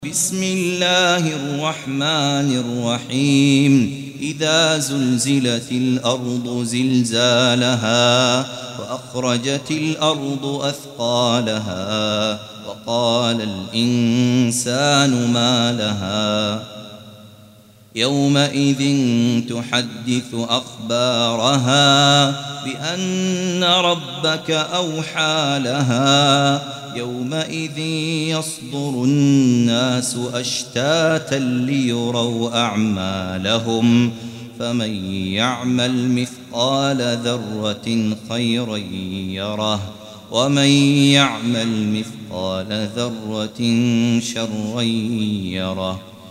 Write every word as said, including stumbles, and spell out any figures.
بسم الله الرحمن الرحيم إذا زلزلت الأرض زلزالها وأخرجت الأرض أثقالها وقال الإنسان ما لها يومئذ تحدث أخبارها بأن ربك أوحى لها يومئذ يصدر الناس أشتاتا ليروا أعمالهم فمن يعمل مثقال ذرة خيرا يره ومن يعمل مثقال ذرة شرا يره.